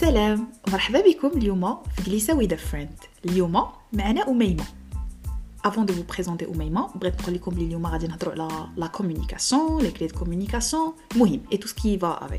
سلام مرحبا بكم اليوم في جلسة with a friend. اليوم معنا أميمة. Avant de vous présenter أميمة بغيت نقول لكم بلي اليوم غادي نهضروا على la communication, les clés de communication, مهم et tout ce qui va avec.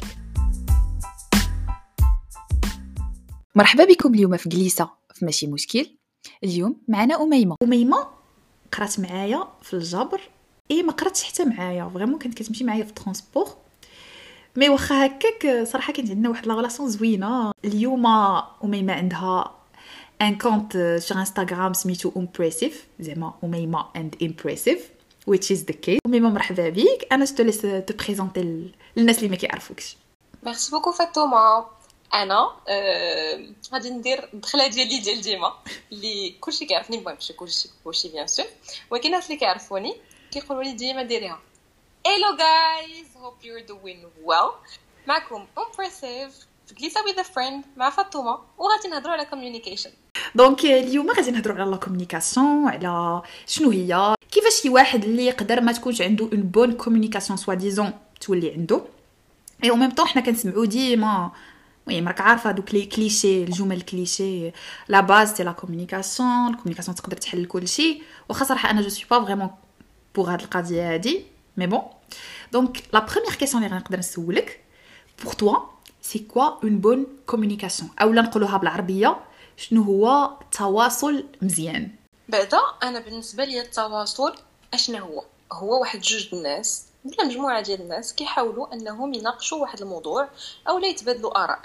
مرحبا بكم اليوم في جلسة في ماشي مشكل. اليوم معنا أميمة قرات معايا في الجبر ما قراتش حتى معايا فريمون كانت كتمشي معايا في الترونسبور مي واخا هكاك صراحه كانت عندنا واحد لا ريلاسيون زوينه. اليوم أميمة عندها ان كونت sur انستغرام سميتو impressive زعما أميمة and impressive which is the case. أميمة مرحبا بك. انا جو ليس تو بريزونتي للناس اللي ما كيعرفوكش. ميرسي بوكو فاطمه. انا غادي ندير الدخله ديال ديما اللي كلشي كيعرفني، المهم ماشي كلشي بيان سور، ولكن الناس اللي كيعرفوني كيقولوا لي ديما ديريها. Hello guys, hope you're doing well. معكم impressive في جلسة with a friend مع فاطمة، وغادي نهضروا على communication. دونك اليوم غادي نهضروا على لا كومونيكاسيون، على شنو هي، كيفاش شي واحد اللي يقدر ما تكونش عنده اون بون كومونيكاسيون سوا ديزون تولي عنده. اي او ميم طون حنا كنسمعوا ديما المهم راك عارفه دوك لي كليشي، الجمل الكليشي، لا باز تاع لا كومونيكاسيون. الكومونيكاسيون تقدر تحل كلشي، واخا صراحه انا جو سوي با فريمون بوغ هاد القضيه هادي مي بون. دونك لا بروميير كيسيون اللي غنقدر نسولك بور توا سي كوا اون بون كومونيكاسيون، اولا نقولوها بالعربيه شنو هو التواصل مزيان؟ بعدا انا بالنسبه لي التواصل اشنو هو واحد جوج الناس ولا مجموعه ديال الناس كيحاولوا انهم يناقشوا واحد الموضوع او لا يتبادلوا اراء.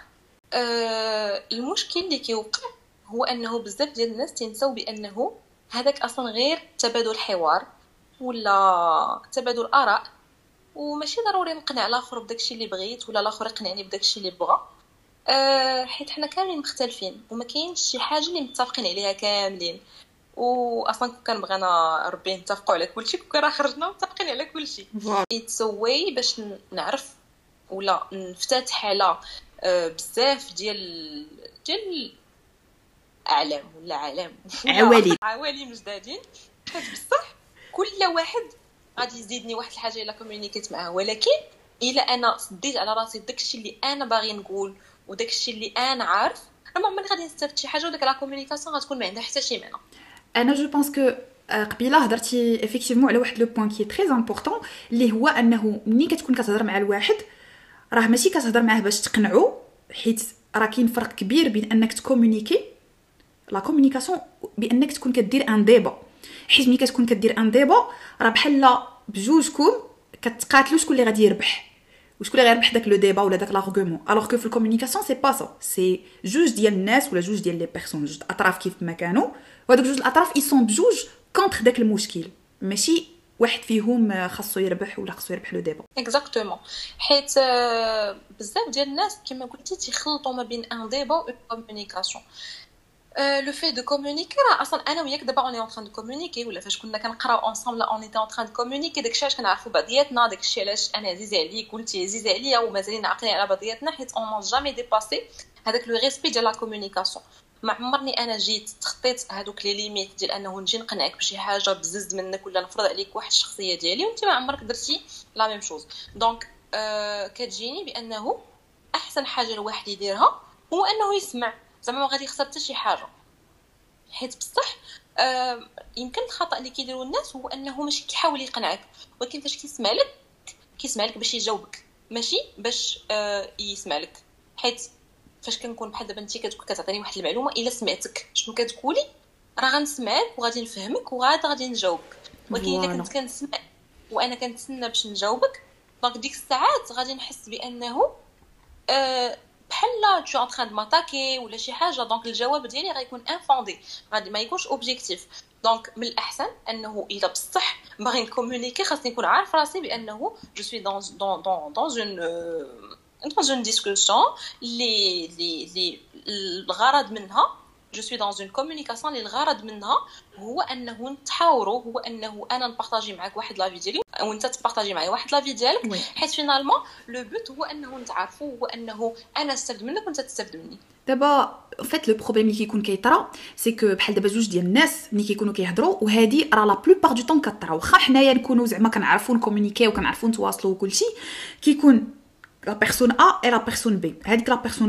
المشكل اللي كيوقع هو انه بزاف ديال الناس تنساو بانه هذاك اصلا غير تبادل حوار ولا تبادل اراء، وماشي ضروري نقنع الاخر بداكشي اللي بغيت ولا الاخر يقنعني بداكشي اللي بغى. حيت حنا كاملين مختلفين وما كاينش شي حاجه اللي متفقين عليها كاملين، واصلا كان بغينا ربي نتفقوا على كلشي كون راه خرجنا متفقين على كلشي. اتس واي باش نعرف ولا نفتتح على بزاف ديال اعلام ولا عوالم جدادين. حيت بصح كل واحد غادي يزيدني واحد الحاجه الا كومونيكيت معاه، ولكن الا انا صديت على راسي داكشي اللي انا باغي نقول وداكشي اللي انا عارف، راه ما عمرني غادي نستافد شي حاجه، وداك لا كومونيكاسيون غتكون ما عندها حتى شي معنى. انا جو بونس كو قبيله هضرتي افيكتيفمون على واحد لو بوين كي تري امبورطون اللي هو انه ملي كتكون كتهضر مع الواحد راه ماشي كتهضر معاه باش تقنعو، حيت راه كاين فرق كبير بين انك تكومونيكي لا كومونيكاسيون بانك تكون كدير ان ديبا. حيت ملي كتكون كدير ان ديبا راه بحال بجوجكم كتقاتلوا شكون اللي غادي يربح وشكون اللي غيربح داك لو ديبا ولا داك لارغومون. الوغ كو في الكومونيكاسيون سي با سا، سي جوج ديال الناس ولا جوج ديال لي بيرسون، جوج اطراف كيف ما كانوا، وهذوك جوج الاطراف اي سون بجوج كونتر داك المشكل، ماشي واحد فيهم خاصو يربح ولا خاصو يربح لو ديبا. اكزاكتومون. حيت بزاف ديال الناس كما قلتي تيخلطوا ما بين ان ديبا و كومونيكاسيون. لو في دو كومونيكي راه اصلا انا وياك دابا اوني اون تران دو كومونيكي، ولا فاش كنا كنقراو اونصامبل اوني اون تران دو كومونيكي، داكشي علاش كنعرفوا بعضياتنا، داكشي علاش انا عزيز عليك وانتي عزيز عليا ومازالين عاقلين على بعضياتنا، حيت اون نون جامي ديباسي هذاك لو ريسبي ديال لا كومونيكاسيون. ما عمرني انا جيت تخطيت هذوك لي ليميت ديال انه نجي نقنعك بشي حاجه بزز منك ولا نفرض عليك واحد الشخصيه ديالي وانت ما عمرك درتي لا ميم شوز. دونك كتجيني بانه احسن حاجه الواحد يديرها هو انه يسمع، زعما ما غادي يخسر حتى شي حاجه. حيت بصح يمكن الخطا اللي كيديروا الناس هو انه ماشي كيحاول يقنعك، ولكن فاش كيسمع لك باش يجاوبك ماشي باش يسمع لك. حيت فاش كنكون بحال دابا انت كتعطيني واحد المعلومه، الا سمعتك شنو كتقولي راه غنسمعك وغادي نفهمك وغادي نجاوبك، ولكن الا كنت كنسمع وانا كنتسنى باش نجاوبك، دونك ديك الساعات غادي نحس بانه بحال تو ان تران دو ماتاكي ولا شي حاجه. دونك الجواب ديالي غيكون انفوندي، غادي ما يكونش اوبجيكتيف. دونك من الاحسن انه الا بصح باغي نكومونيكي خاصني نكون عارف راسي بانه جو سوي dans une discussion اللي الغرض منها جو سوي dans une communication اللي الغرض منها هو انه نتحاوروا، هو انه انا نبارطاجي معك واحد لافي ديالي وانت تبارطاجي معايا واحد لافي ديالك، حيت فينالمون لو بوت هو انه نتعرفوا، هو انه انا نستافد منك وانت تستافد مني. دابا فات لو بروبليم اللي كيكون كيطرا سي كو بحال دابا جوج ديال الناس ملي كيكونوا كيهضروا، وهذه راه لا بلوبار دو طون كطرا، واخا حنايا نكونوا زعما كنعرفوا نكومونيكي وكنعرفوا نتواصلوا وكلشي، كيكون لا بيرسون ا اي لا بيرسون بي. هذيك لا بيرسون ا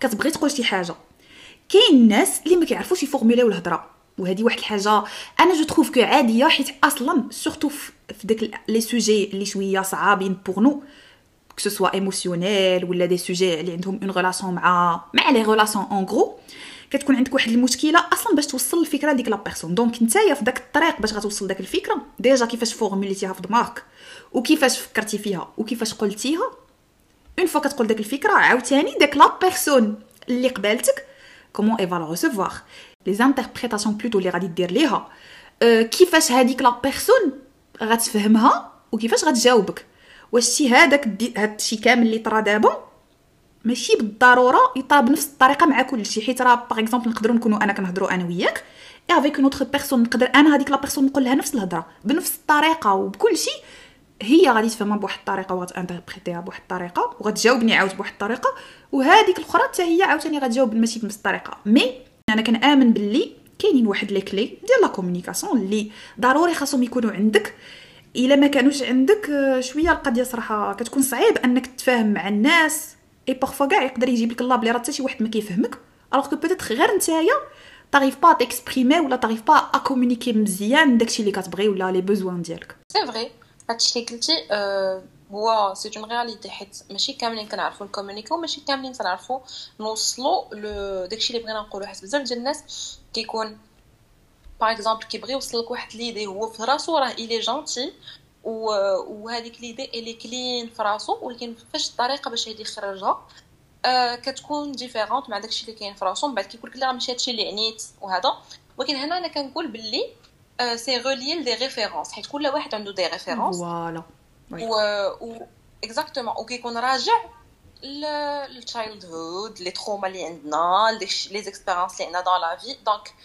كتبغي تقول شي حاجه. كاين الناس اللي ما كيعرفوش يفورموليو الهضره، وهذه واحد الحاجه انا جو تروف كو عاديه، حيت اصلا سورتو في داك لي سوجي اللي شويه صعابين بور نو que ce soit émotionnel ولا دي سوجي اللي عندهم اون ريلاسيون مع لي ريلاسيون اون غرو، كتكون عندك واحد المشكله اصلا باش توصل الفكره ديك لا بيرسون. دونك نتايا في داك الطريق باش غتوصل داك الفكره ديجا كيفاش فورموليتيها في دماغك وكيفاش فكرتي فيها وكيفاش قلتيها. اون فوا كتقول داك الفكره عاوتاني داك لا بيرسون اللي قبالتك كومون اي فا ريسيفوار لي انتربريتاسيون بلوتو اللي غادي دير ليها، كيفاش هذيك لا بيرسون غتفهمها وكيفاش غتجاوبك. واش شي هذاك هاد الشيء كامل اللي طرا دابا ماشي بالضروره يطرا بنفس الطريقه مع كل شيء، حيت راه باغ اكزومبل نقدروا نكونوا انا كنهضروا انا وياك اي افيك اون اوتر بيرسون، نقدر انا هذيك لا بيرسون نقول لها نفس الهضره بنفس الطريقه وبكل شيء، هي غادي تفهمها بواحد الطريقه وغتانتربريتيها بواحد الطريقه وغتجاوبني عاود بواحد الطريقه، وهذيك الاخرى حتى هي عاوتاني غتجاوب ماشي بنفس الطريقه. مي انا كنامن باللي كاينين واحد لي كلي ديال لا كومونيكاسيون اللي ضروري خاصهم يكونوا عندك. الا ما كانوش عندك شويه القضيه صراحه كتكون صعيب انك تتفاهم مع الناس، اي بارفوا كاع يقدر يجيب لك الله بلي راه حتى شي واحد ما كيفهمك، الوغ كو بوتيت غير نتايا طاريف با تيكسبريمي ولا طاريف با ا كومونيكي مزيان داكشي اللي كتبغي ولا لي بوزوان ديالك. سي فري هادشي اللي قلتي هو سي اون رياليتي، حيت ماشي كاملين كنعرفوا نكومونيكيو، ماشي كاملين كنعرفوا نوصلوا داكشي اللي بغينا نقولوا، حيت بزاف ديال الناس كيكون باغ اكزومبل كيبغي يوصل لك واحد ليدي هو في راسو راه ايلي جونتي وهذيك ليدي اللي كلين في راسو، ولكن فاش الطريقه باش يدي يخرجها كتكون ديفيرونت مع داكشي اللي كاين في راسو. من بعد كيقول لك لا ماشي هادشي اللي عنيت وهذا، ولكن هنا انا كنقول باللي سي ريلي دي ريفيرونس، حيت كل واحد عنده دي ريفيرونس فوالا و اكزاكتومون وكيكون راجع للتشايلد هود لي تروما اللي عندنا لي زيكسبيريونس اللي عندنا دون لا في. دونك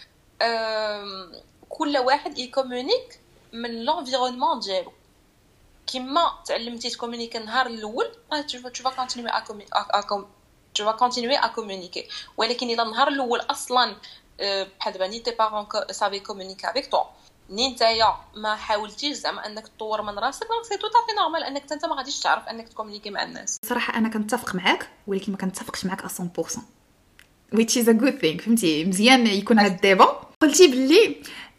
كل واحد يكومونيك من لونفيرونمون ديالو. كيما تعلمتي تكومونيكي النهار الاول tu vas continuer à communiquer، ولكن الا النهار الاول اصلا بحال دابا ني تي بارون سافي كومونيكي افيك تو ني نتايا ما حاولتيش زعما انك تطور من راسك، دونك سي توت افي نورمال انك انت ما غاديش تعرف انك تكومونيكي مع الناس. صراحه انا كنتفق معاك ولكن ما كنتفقش معاك 100% which is a good thing. فهمتي مزيان يكون هذا الديبا. قلتي باللي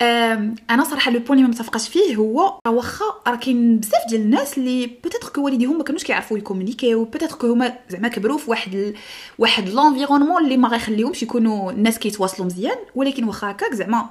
انا صراحه لو بوين اللي ما متفقاش فيه هو واخا راه كاين بزاف ديال الناس اللي بوتيتر كو والديهم ما كانوش كيعرفوا يكومونيكيو، بوتيتر كو هما زعما كبروا في واحد لونفيرونمون اللي ما غيخليهمش يكونوا الناس كيتواصلوا مزيان، ولكن واخا هكاك زعما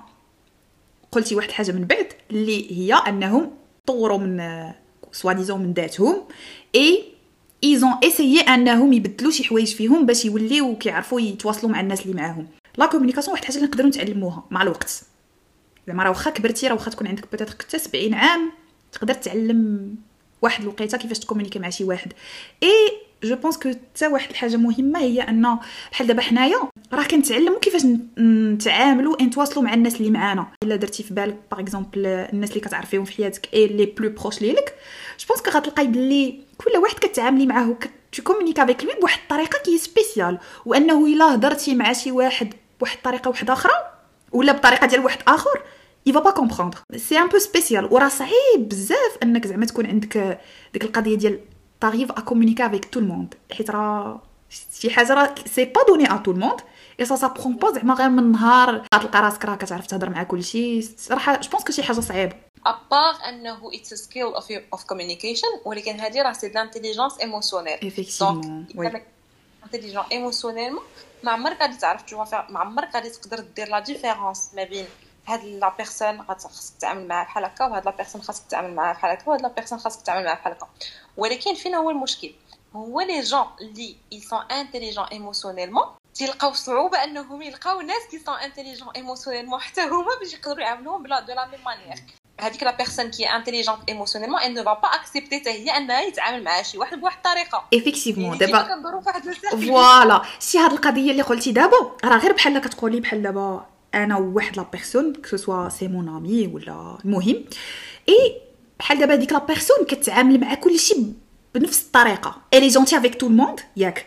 قلتي واحد الحاجه من بعد اللي هي انهم طوروا من سوا ديزون من ذاتهم اي ils ont essayé انهم يبدلوا شي حوايج فيهم باش يوليو كيعرفوا يتواصلوا مع الناس اللي معاهم. لا كومونيكاسيون واحد الحاجه اللي نقدروا نتعلموها مع الوقت، زعما راه واخا كبرتي راه واخا تكون عندك بوتيتر حتى 70 عام تقدر تعلم واحد الوقيته كيفاش تكومونيكي مع شي واحد. اي جو بونس كو حتى واحد الحاجه مهمه هي ان بحال دابا حنايا راه كنتعلموا كيفاش نتعاملوا نتواصلوا مع الناس اللي معانا. الا درتي في بالك باغ اكزومبل الناس اللي كتعرفيهم في حياتك اي لي بلو بروش ليك، جو بونس كو غتلقاي بلي كل واحد كتعاملي معاه تكومونيكا افيك لوي بواحد الطريقه كي سبيسيال، وانه الا هضرتي مع شي واحد بواحد الطريقه واحده اخرى ولا بطريقه ديال واحد اخر il va pas comprendre. c'est un peu spécial وراه صعيب بزاف انك زعما تكون عندك ديك القضيه ديال t'arrives à communiquer avec tout le monde، حيت راه شي حاجه راه سي با دوني à tout le monde et ça prend pas زعما غير من نهار تلقى راسك راه كتعرف تهضر مع كلشي. صراحه جو بونس كو شي حاجه صعيبه ابار انه it's a skill of communication، ولكن هذه راه سي l'intelligence émotionnelle. effectivement donc intelligent émotionnellement ما عمرك غادي تعرف ما عمرك غادي تقدر دير لا ديفيرونس ما بين هاد لا بيرسون خاصك تتعامل معها بحال هكا وهاد لا بيرسون خاصك تتعامل معها بحال هكا وهاد لا بيرسون خاصك تتعامل معها بحال هكا. ولكن فين هو المشكل؟ هو لي جون اللي ils sont intelligents émotionnellement تلقاو صعوبه انهم يلقاو ناس qui sont intelligents émotionnellement حتى هما باش يقدروا يعاملوهم بلا دو لا ميم مانيير. هذيك لا بيرسون كي انتيليجونت ايموشنيلمون elle ne va pas accepter حتى هي انها يتعامل مع شي واحد بواحد الطريقه. effectivement دابا كندوروا فواحد المسائل فوالا شي هاد القضيه اللي قلتي دابا راه غير بحال كتقولي بحال دابا انا وواحد لا بيرسون كو سوا سي مون امي ولا المهم اي بحال دابا ديك لا بيرسون كتعامل مع كلشي بنفس الطريقه الي جونتي افيك تو الموند ياك،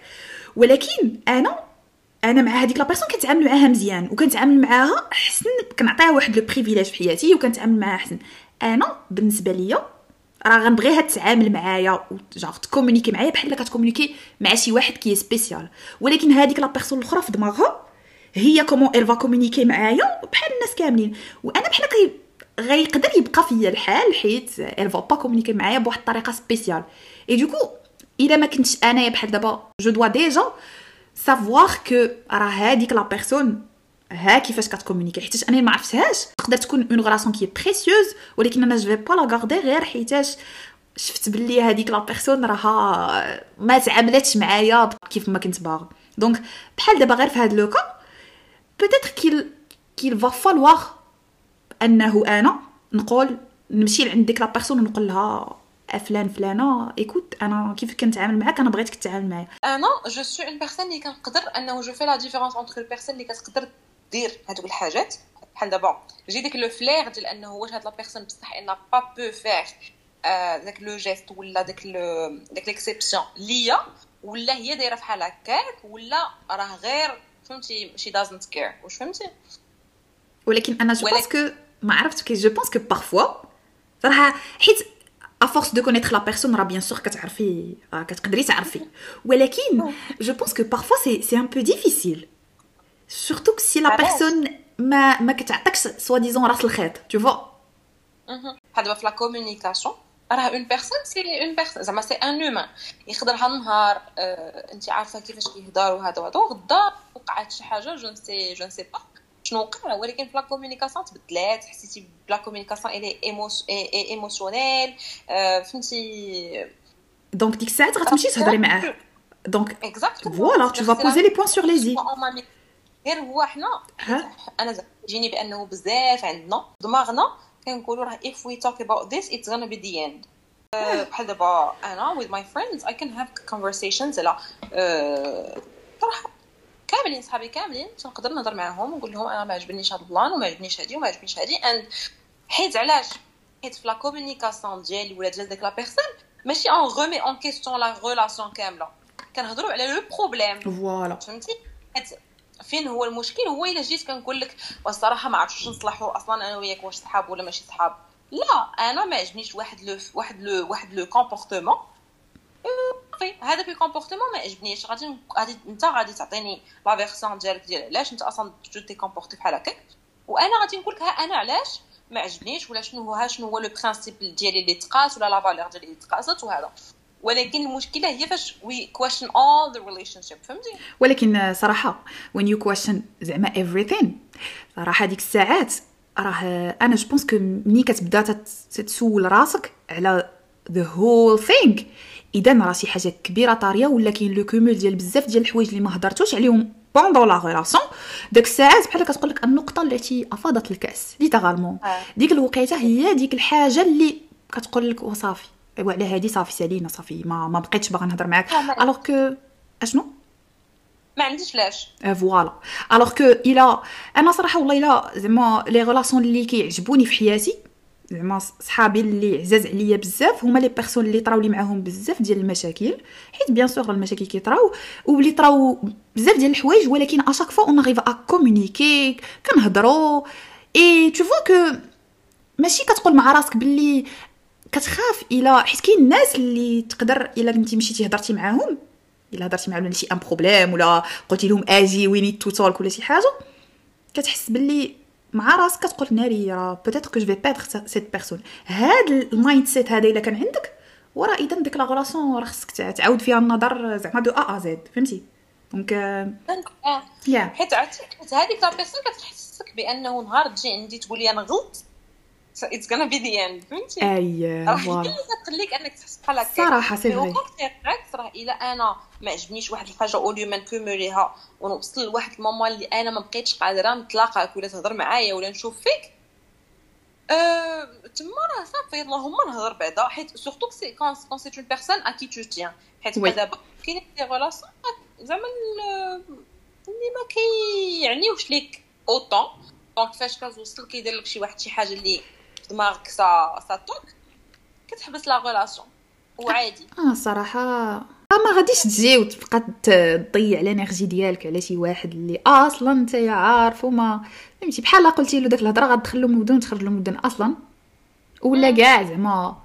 ولكن انا مع هذيك لا بيرسون كنتعامل معاها مزيان وكنتعامل معاها احسن، كنعطيها واحد لو بريفيليج في حياتي وكنتعامل معاها احسن. انا بالنسبه ليا راه غنبغيها تتعامل معايا جاغ تكومونيكي معايا بحال الا كتكومونيكي مع شي واحد كي سبيسيال. ولكن هذيك لا بيرسون الاخرى في دماغها هي كومون ايل فا كومونيكي معايا بحال الناس كاملين، وانا بحال غيقدر يبقى فيا الحال حيت ايل فا با كومونيكي معايا بواحد الطريقه سبيسيال. اي دوكو الا ما كنتش انايا بحال دابا جو دوا ديجا سافوار كو راه هذيك لا بيرسون ها كيفاش كتكومونيكي، حيتاش انا ما عرفتهاش تقدر تكون اون غلاسيون كي بريسيوز، ولكن انا جو في با لا غاردي غير حيتاش شفت باللي هذيك لا بيرسون راها ما تعاملاتش معايا كيف ما كنت باغا. دونك بحال دابا غير في هذا لو كا بوتيتر كيل فا فالوار انه انا نقول نمشي لعند ديك لا بيرسون ونقول لها فلانه ايكوت انا كيف كنتعامل معاك انا بغيتك تتعامل معايا. انا جو سو اون بيرسون اللي كنقدر انه جو في لا ديفيرونس انتر البيرسون اللي كتقدر دير هذوك الحاجات بحال دابا جي ديك لو فلير ديال انه واش هاد لا بيرسون بصح ان با بو فير داك لو جيست ولا داك ليكسيبسيون ليا، ولا هي دايره بحال هكاك، ولا راه غير فهمتي شي دازنت كير واش فهمتي. ولكن انا جو بونس كو ما عرفتش كي جو بونس كو بارفوا صراحه حيت à force de connaître la personne راه bien sûr كتعرفي كتقدري تعرفي، ولكن جو بونس كو parfois c'est un peu difficile surtout si la personne ما كتعطيكش سوا ديزون راس الخيط tu vois. بحال دابا في لا كومونيكاسيون راه اون بيرسون سي اون بيرسون زعما سي ان هومان يقدر هالنهار انت عارفه كيفاش كيهضر وهذا غدا وقعت شي حاجه جو نسي با شنو وقع، ولكن في لا كومونيكاسيون تبدلات حسيتي بلا كومونيكاسيون اي ايموشنيل فهمتي. دونك ديك الساعه غتمشي تهضري معاه دونك اكزاكتومون فوالا tu vas poser les points sur les i. غير هو حنا انا جيني بانه بزاف عندنا دماغنا كنقولوا راه if we talk about this it's gonna be the end. بحال دابا انا with my friends I can have conversations على صراحه كاملين صحابي كاملين تنقدر نهضر معاهم ونقول لهم انا ما عجبنيش هذا البلان وما عجبنيش هذه وما عجبنيش هذه اند حيت علاش حيت في لا كومونيكاسيون ديالي ولا ديال ديك لا بيرسون ماشي اون غومي اون كيسيون لا ريلاسيون كامله، كنهضروا على لو بروبليم فوالا فهمتي. حيت فين هو المشكل هو الا جيت كنقول لك والصراحه ما عرفتش نصلحوا اصلا انا وياك واش صحاب ولا ماشي صحاب، لا انا ما عجبنيش واحد لو كومبورتمون هذا في كومبورتمون ما عجبنيش، غادي انت غادي تعطيني لا فيرسيون ديالك ديال علاش انت اصلا تي كومبورتي بحال هكاك، وانا غادي نقول لك ها انا علاش ما عجبنيش ولا شنو هو لو برينسيپ ديالي اللي تقاس ولا لا فالور ديالي اللي تقاست وهذا. ولكن المشكله هي فاش we question all the relationship فهمتي. ولكن صراحه when you question زعما everything صراحه ديك الساعات راه انا جو بونس كو ملي كتبدا تسول راسك على the whole thing اذا راه شي حاجه كبيره طاريه ولا كاين لو كومول ديال بزاف ديال الحوايج اللي ما هضرتوش عليهم بوندون لا ريلاسيون. داك الساعات بحال كتقول لك النقطه التي افاضت الكاس ليترالمون ديك الوقيته هي ديك الحاجه اللي كتقول لك وصافي وعلى هذه صافي سالينا صافي ما بقيتش باغا نهضر معاك الوغ كو اشنو ما عنديش لاش فوالا الوغ كو الا انا صراحه والله الا زعما لي ريلاسيون اللي كيعجبوني في حياتي زعما صحابي اللي عزاز عليا بزاف هما لي بيرسون اللي طراو لي معاهم بزاف ديال المشاكل، حيت بيان سور المشاكل كيطراو واللي طراو بزاف ديال الحوايج، ولكن اشاك فوا اون اريف ا كومونيكي كنهضروا اي تو فوا كو ماشي كتقول مع راسك باللي كتخاف الا حيت كاين الناس اللي تقدر الا كنتي مشيتي هضرتي معاهم الا هضرتي معاهم على شي ان بروبليم ولا قلتي لهم اجي وي نيد تو تولك ولا شي حاجه كتحس باللي مع راسك كتقول ناري راه بوتيتر كو جو في بيردر سيت بيرسون. هاد المايند سيت هذا الا كان عندك وراه اذا ديك لا غلاسون راه خصك تعاود فيها النظر زعما دو ا زد فهمتي. دونك يا حيت هذيك لا بيرسون كتحسسك بانه نهار تجي عندي تقول لي انا غلط it's gonna be the end فهمتي. اييه فوالا اللي كتخليك انك تحس بحال هكا صراحه سي فري راه الا انا ما عجبنيش واحد الحاجه اوليو ما نكوموليها ونوصل لواحد المومون اللي انا ما بقيتش قادره نتلاقاك ولا تهضر معايا ولا نشوف فيك تما راه صافي اللهم نهضر بعدا، حيت سورتو سي كون سي اون بيرسون ا كي تو تيان، حيت دابا كاين دي ريلاسيون زعما اللي ما كيعنيوش ليك اوطون، دونك فاش كتوصل كيدير لك شي واحد شي حاجه اللي في دماغك سا توك كتحبس لا ريلاسيون وعادي. صراحه ما غاديش تجي وتبقى تضيع الانرجي ديالك على شي واحد اللي اصلا انت عارف وما فهمتي بحال قلتي له داك الهضره غتدخل له مودون تخرج له مودون اصلا ولا كاع زعما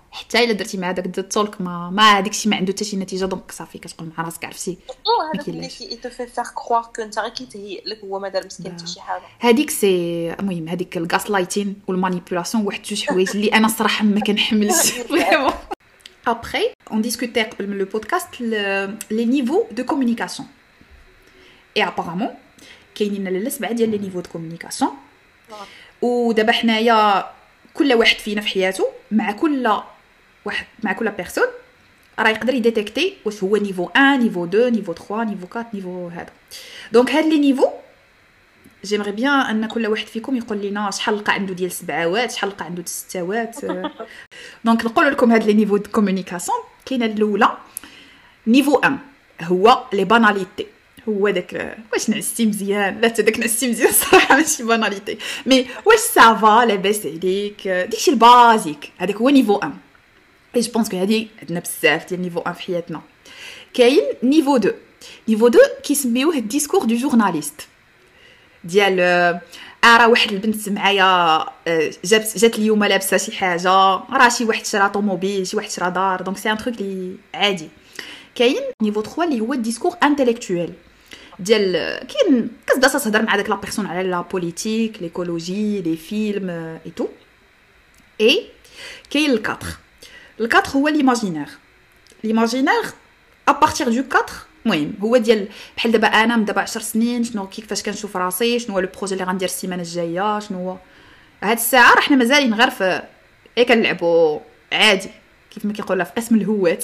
حتى الا درتي مع داك التولك ما داكشي ما عنده حتى شي نتيجه، دونك صافي كتقول مع راسك عرفتي هذاك اللي كيتفي فير كروار كو انت غير كيتهيئ لك هو ما دار مسكين حتى شي حاجه. هذيك سي المهم هذيك الغاس لايتين والمانيبيولاسيون واحد جوج حوايج اللي انا صراحه ما كنحملش فريمون. Après, on discutait dans le podcast les niveaux de communication. Et apparemment, كاينين للسبعه ديال لي نيفو دو كومونيكاسيون. ودابا حنايا كل واحد فينا في حياته مع كل بيرسون راه يقدر يديتيكتي واش هو نيفو 1 نيفو 2 نيفو 3 نيفو 4 نيفو هذا. دونك هاد لي نيفو جيمري بيان ان كل واحد فيكم يقول لنا شحال لقى عنده ديال السبعاوات شحال لقى عنده الستاوات. دونك نقول لكم هاد لي نيفو دو كومونيكاسيون. كاينه الاولى نيفو 1 هو لي باناليتي، هو داك واش نعستي مزيان لا حتى داك نعستي مزيان صراحه ماشي باناليتي مي واش سافا لاباس عليك داكشي البازيك هذاك هو نيفو 1. اي جو بونس كو هادي عندنا بزاف ديال نيفو 1 في حياتنا. كاين نيفو 2. نيفو 2 كيسميوه الديسكور دو جورناليست ديال راه واحد البنت معايا جات اليوم لابسه شي حاجه، راه شي واحد شرا طوموبيل شي واحد شرا دار، دونك سي ان تروك لي عادي. كاين نيفو 3 اللي هو الديسكور انتيليكتويل ديال كاين كتبدا تهضر مع داك لا بيرسون على لا بوليتيك ليكولوجي لي فيلم اي تو. اي كاين الكاتر هو ليماجينير ا بارتير دو 4. المهم هو ديال بحال دابا انا من دابا 10 سنين شنو كيفاش كنشوف راسي، شنو هو لو بروجي اللي غندير السيمانه الجايه، شنو هو هاد الساعه راه حنا مازالين غير في كنلعبوا عادي كيف ما كيقولوا في قسم الهوات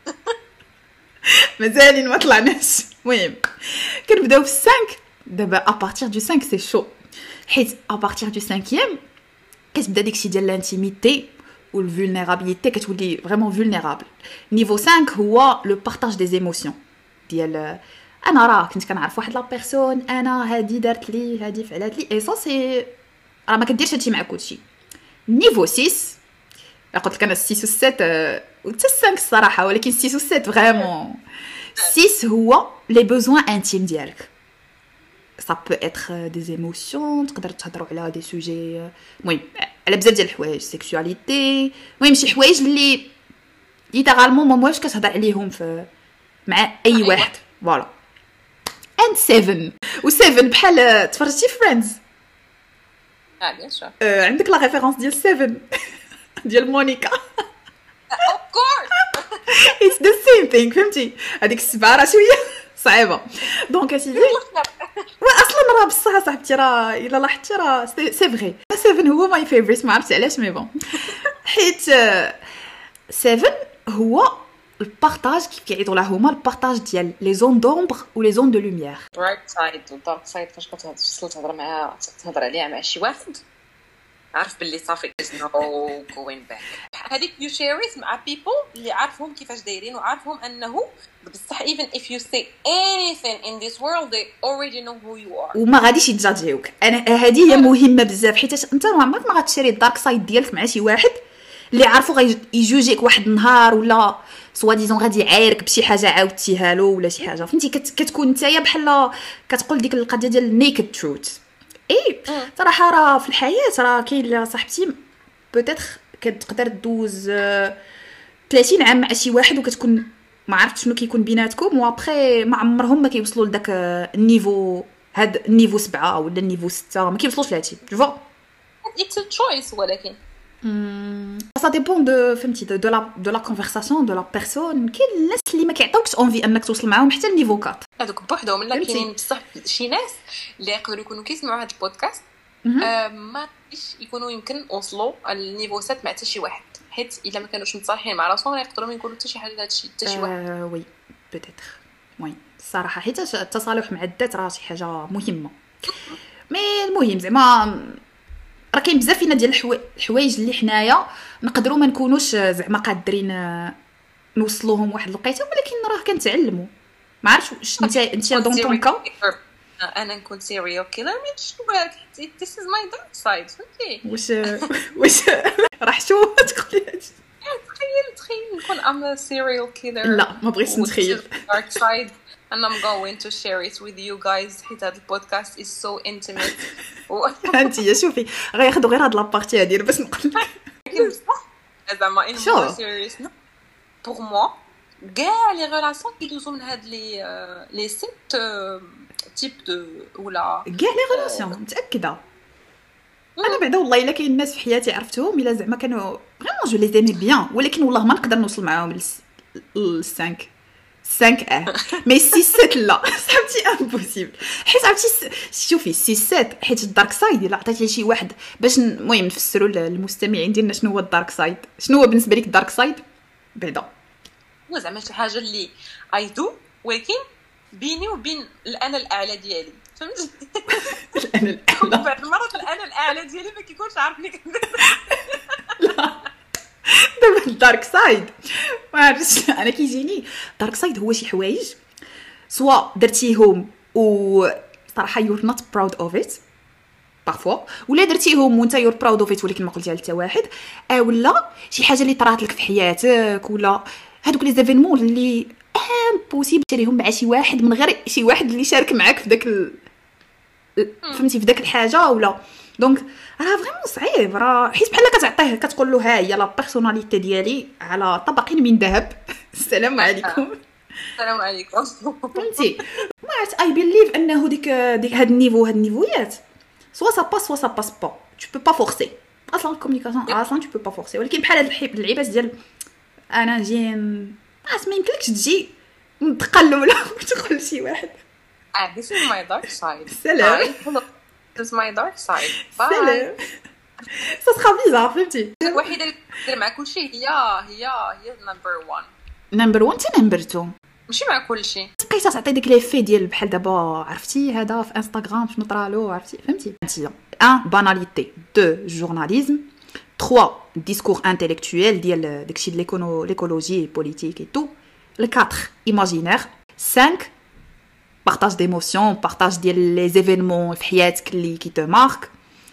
مازالين ما طلعناش. المهم كنبداو في 5 دابا ا بارتير دو 5 سي شو، حيت ا بارتير دو 5 كتبدا داكشي ديال لانتيميتي والفولنيرابيليتي، كتولي فريمون فولنيرابل. نيفو 5 هو لو بارطاج دي ايموسيون ديال انا راه كنت كنعرف واحد لا بيرسون، انا هادي دارت لي هادي فعلات لي، اي سا سي راه ما كديرش هادشي مع كلشي. نيفو 6 قلت لك انا 6 و 7 و 5 الصراحه، ولكن 6 و 7 فريمون. 6 هو لي بوزوان انتيم ديالك، ça peut être des émotions، تقدر تهضروا على دي سوجي المهم على بزاف ديال الحوايج، سيكسواليتي، المهم شي حوايج اللي ليترالمون ما واش كتهضر عليهم في مع اي واحد. فوالا. and 7 و 7 بحال تفرجتي فريندز بيان سور عندك لا ريفيرونس ديال 7 ديال مونيكا اوف كورس it's the same thing فهمتي. هذيك السبعه راه شويه صعيبه. دونك اسيدي اصلا راه بصح صاحبتي راه الا لاحظتي راه سي فري 7 هو ماي فيفوريت، ما عرفتش علاش مي بون، حيت 7 هو البارطاج كيف كيعيطوا له هما البارطاج ديال لي زون دومبر و لي زون دو لوميير. برايت سايد والدارك سايد فاش كتوصل تهضر عليها مع شي واحد عارف باللي صافي نو جوين باك. هذيك يو شيريت مع بيبل اللي عارفهم كيفاش دايرين وعارفهم انه بصح even if you say anything in this world they already know who you are وما غاديش يتجاجيوك. انا هذه هي مهمه بزاف، حيت انت عمرك ما غتشري الدارك سايد ديالك مع شي واحد اللي عارفو غيجوجيك واحد النهار ولا سوا ديزون غادي يعايرك بشي حاجه عاودتيها له ولا شي حاجه فهمتي. كتكون نتايا بحال كتقول ديك القضيه ديال نيكد تروث. اي صراحه راه في الحياه راه كاين صاحبتي بوتيتر كتقدر دوز 30 عام مع شي واحد وكتكون ما عرفت شنو كيكون بيناتكم، وابخي ما عمرهم ما كيوصلوا لداك النيفو، هاد النيفو 7 ولا النيفو 6 ما كيوصلوش لهادشي جو. اتس ا تشويس ولكن ça dépend de فهمتي de la conversation de la personne. كاين الناس اللي ما كيعطيوكش اونفي انك توصل معاهم حتى النيفو 4 هذوك بوحدهم. لا كاينين بصح شي ناس اللي يقدروا يكونوا كيسمعوا هذا البودكاست ما يكونوا يمكن وصلوا النيفو 7 مع حتى شي واحد، حيت الا ما كانوش متصالحين مع راسهم يقدروا ما يقولوا حتى شي حاجه لهادشي حتى شي واحد. وي بوتيتر وي الصراحه حيت التصالح مع الذات راه شي حاجه مهمه. مي المهم زعما راه كاين بزاف فينا ديال الحوايج اللي حنايا نقدروا ما نكونوش زعما قادرين نوصلوهم واحد الوقيته، ولكن راه كنتعلموا. ما عرفتش انت دون طون كا انا نكون سيريال كيلر ماشي بالك this is my dark side فهمتي. واش راح شو تقولي هادشي؟ تخيل نكون ام سيريال كيلر. لا ما بغيتش نتخيل dark side and I'm going to share it with you guys حيت هذا البودكاست is so intimate. انت شوفي غياخذوا غير هاد لابارتي هادي باش نقول لك. لكن بصح زعما ان مور سيريوس بور موا كاع لي ريلاسيون كيدوزو من هاد لي سيت تيب دو ولا كاع لي ريلاسيون متاكده. انا بعدا والله الا كاين ناس في حياتي عرفتهم الا زعما كانوا فريمون جو لي زيمي بيان، ولكن والله ما نقدر نوصل معاهم ل 5 مي 6 7 لا صاحبتي امبوسيبل. حيت عرفتي شوفي 6 7 حيت الدارك سايد الا عطيتي لشي واحد باش المهم نفسروا للمستمعين ديالنا شنو هو الدارك سايد. شنو هو بالنسبه لك الدارك سايد بعدا؟ هو زعما شي حاجه اللي ايدو ولكن بيني وبين الانا الاعلى ديالي، فهمتي؟ الانا الاعلى بعض المرات الانا الاعلى ديالي ما كيكونش عارفني كندير. دابا الدارك سايد ما عرفتش انا كيجيني دارك سايد هو شي حوايج سواء درتيهم و صراحه you're not proud of it parfois، ولا درتيهم وانت you're proud of it ولكن ما قلتيها لتا واحد، ولا شي حاجه اللي طرات لك في حياتك، ولا هادوك لي زيفينمون اللي امبوسيبل تشريهم مع شي واحد من غير شي واحد اللي شارك معاك في داك فهمتي في داك الحاجه. ولا دونك راه فريمون صعيب، راه حيت بحال كتعطيه كتقول له ها هي لا بيرسوناليتي ديالي على طبق من ذهب السلام عليكم. السلام عليكم. فهمتي ما عرفت اي بيليف انه ديك هاد النيفويات سوا سا باس سوا سا باس با، tu peux pas forcer اصلا الكومونيكاسيون اصلا tu peux pas forcer. ولكن بحال هاد اللعيبات ديال انا نجي ما يمكنلكش تجي متقلوله وتقول لشي واحد this is my dark side. سلام this is my dark side. سلام ça sera bizarre فهمتي. الوحيده اللي كدير مع كلشي هي نمبر 1 نمبر 1 حتى نمبر 2 ماشي مع كلشي. بقيت تعطي ديك لي في ديال بحال دابا عرفتي هذا في انستغرام شنو طرالو عرفتي فهمتي. 1 باناليتي، 2 جورناليزم، 3 discours intellectuel ديال داكشي ديال l'écologie politique et tout. Le 4 imaginaire. 5 partage d'émotions, partage ديال les événements في حياتك اللي qui te marque.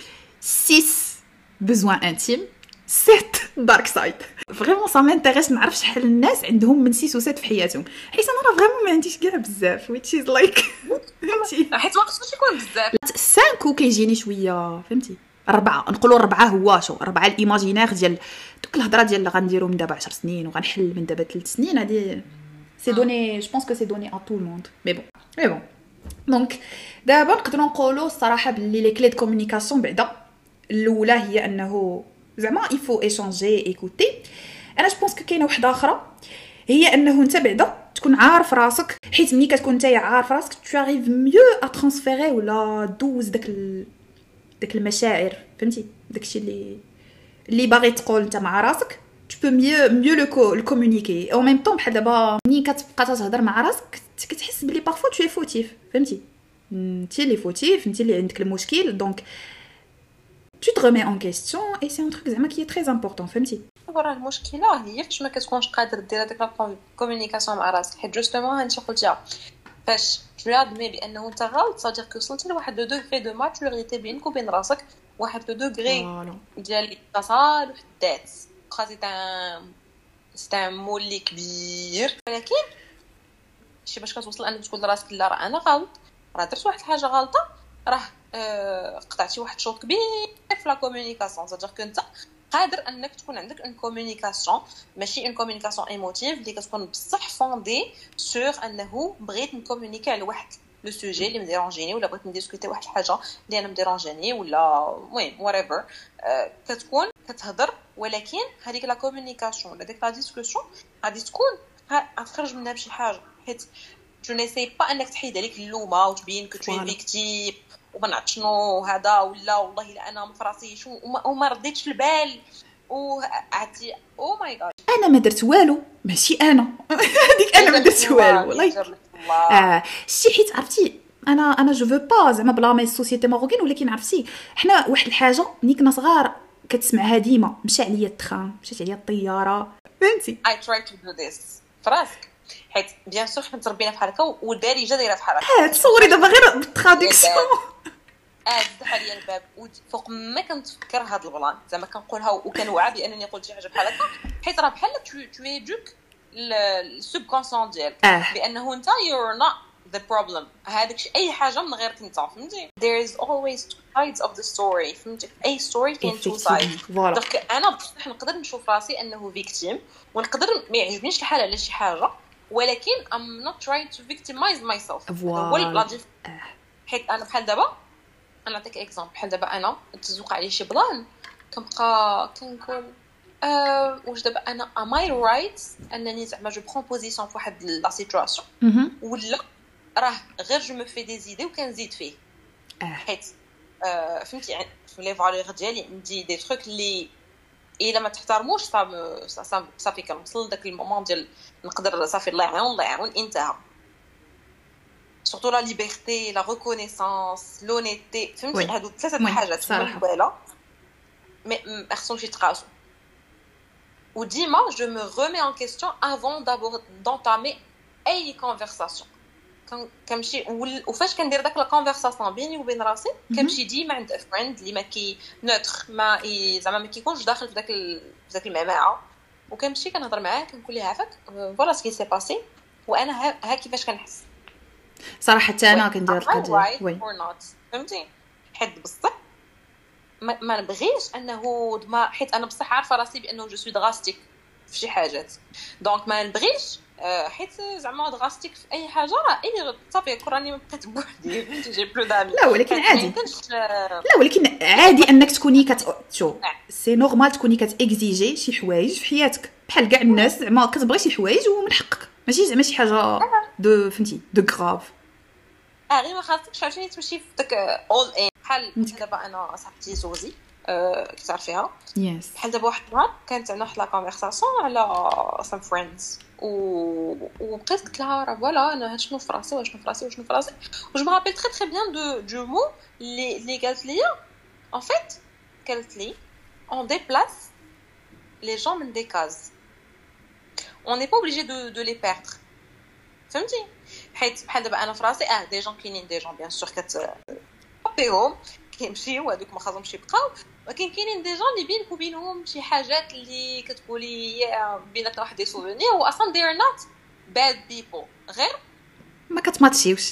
6 besoin intime. 7 dark side. فريمون سا مانتيريس نعرف شحال الناس عندهم من 6 و 7 في حياتهم، حيت انا راه فريمون ما عنديش كاع بزاف which is like فهمتي حيت ما خصوش يكون بزاف. 5 كيجيني شويه فهمتي. 4 نقولوا 4 هو شو 4 الايماجينير ديال دوك الهضره ديال اللي غنديروا من دابا 10 سنين وغنحل من دابا 3 سنين. هذه سي دوني جو بونس كو سي دوني ا تو الموند مي بون دونك دابا نقدروا نقولوا الصراحه باللي لي كلي دو كومونيكاسيون بعدا الاولى هي انه زعما il faut échanger écouter. انا جو بونس كاينه وحده اخرى هي انه انت بعدا تكون عارف راسك، حيت ملي كتكون انت عارف راسك tu arrives mieux à transférer ولا دوز داك المشاعر فهمتي. داكشي اللي باغي تقول انت مع راسك tu peux mieux le communiquer en même temps. بحال دابا ملي كتبقى تهضر مع راسك كتحس بلي parfois tu es fautif فهمتي. انت اللي فوتيف، انت اللي عندك المشكل، دونك tu te remets en question et c'est un truc زعما qui est très important فهمتي. راه المشكله هي فاش ما كتكونش قادر دير هذاك الكومونيكاسيون مع راسك، حيت جوستومون هانتي قلتيها فاش tu admets بانه انت غلط صادير كو وصلتي لواحد لو دوغري دو ماتوريتي بينك وبين راسك، واحد لو دوغري ديال التصالح الذات. سي ان مولي كبير، ولكن شي باش كتوصل انك تقول لراسك لا راه انا غلط، راه درت واحد الحاجه غلطه، راه قطعتي واحد الشوط كبير في لا كومونيكاسيون. صادير كو انت قادر انك تكون عندك ان كومونيكاسيون ماشي ان كومونيكاسيون ايموتيف اللي كتكون بصح فوندي سور انه بغيت نكومونيكي على واحد لو سوجي اللي مديرونجيني، ولا بغيت نديسكوتي واحد الحاجه اللي انا مديرونجيني، ولا المهم whatever. كتكون كتهضر، ولكن هذيك لا كومونيكاسيون ولا ديك لا ديسكوسيون غادي تكون غتخرج منها بشي حاجه، حيت جو نيساي با انك تحيد عليك اللومه وتبين كو تو فيكتيم وما نعرف شنو هذا، ولا والله الا انا ما فراسيش وما رديتش البال وعطي او ماي جاد انا ما درت والو، ماشي انا هذيك انا ما درت والو والله. شي حيت عرفتي انا جو فو با زعما بلامي السوسيتي ماروكين، ولكن عرفتي حنا واحد الحاجه ملي كنا صغار كتسمعها ديما، مشى عليا التخان، مشات عليا الطياره فهمتي. I try to do this فراسك، حيت بيان سور حنا تربينا بحال هكا والدارجه دايره بحال هكا. تصوري دابا غير بالتراديكسيون فتح لي الباب وفوق ما كنتفكر هاد البلان زعما كنقولها وكنوعى بانني قلت شي حاجه بحال هكا، حيت راه بحال تو ايدوك السوبكونسون ديالك بانه انت يور نوت the problem هذاك اي حاجه من غير كنت فهمتي. there is always two sides of the story فهمتي. اي ستوري كاين two sides. دونك انا بصح نقدر نشوف راسي انه فيكتيم ونقدر ما يعجبنيش الحال على شي حاجه ولكن I'm not trying to victimize myself. ولا حيت انا بحال دابا انا نعطيك اكزامبل بحال دابا انا تزوق عليه شي بلان كنبقى كنقول واش دابا انا am I right انني زعما جو برون بوزيسيون فواحد لا سيتواسيون ولا راه غير جو مو في دي زيدي وكنزيد فيه حيت فهمتي يعني في لي فالور ديالي عندي دي تروك اللي الا ما تحترموش صافي كنوصل لذاك المومون ديال نقدر صافي الله يعاون انتهى. سورتو لا ليبرتي لا ريكونيسانس لونيتي فهمتي هادو ثلاثه حاجات مهمه ما خصهمش يتقاسوا. وديما je me remets en question avant d'entamer اي conversation. كنمشي وفاش كندير داك لا كونفرساسيون بيني وبين راسي كنمشي ديما عند فريند اللي ما كي نوتر ما زعما ما كيكونش داخل في داك المعمعه وكنمشي كنهضر معاه كنقول ليه عافاك فوالا سكي سي باسي وانا ها كيفاش كنحس صراحه حتى انا كندير القضيه وي فهمتي. حيت بصح ما نبغيش انه ما حيت انا بصح عارفه راسي بانه جو سوي دراستيك في شي حاجات دونك ما نبغيش حيت زعما دراستيك في اي حاجه راه اي صافي كراني ما بقيت بوحدي فهمتي جي بلو دامي. لا ولكن عادي لا ولكن عادي انك تكوني شوف سي نورمال تكوني كتاكزيجي شي حوايج في حياتك بحال كاع الناس زعما كتبغي شي حوايج ومن حقك ماشي زعما شي حاجه دو فهمتي دو غراف غير ما خاصكش عاوتاني تمشي في داك اول ان بحال دابا انا صاحبتي زوزي كتعرفيها يس بحال دابا واحد النهار كانت عندنا واحد لا كونفرساسيون على سام فريندز وبقيت قلت لها راه فوالا انا شنو في راسي وشنو في راسي و جو مابيل تري تري بيان دو مو اللي قالت لي en fait قالت لي on déplace les gens من des cases on n'est pas obligé de les perdre فهمتي. حيت بحال دابا انا في راسي دي جون كاينين دي جون بيان سور كتبيهم كيمشيو هذوك ما خاصهمش يبقاو ولكن كاينين دي جون اللي بينك وبينهم شي حاجات اللي كتقولي بيناتنا واحد دي سوفونير واصلا they are not bad people غير ما كتماتشيوش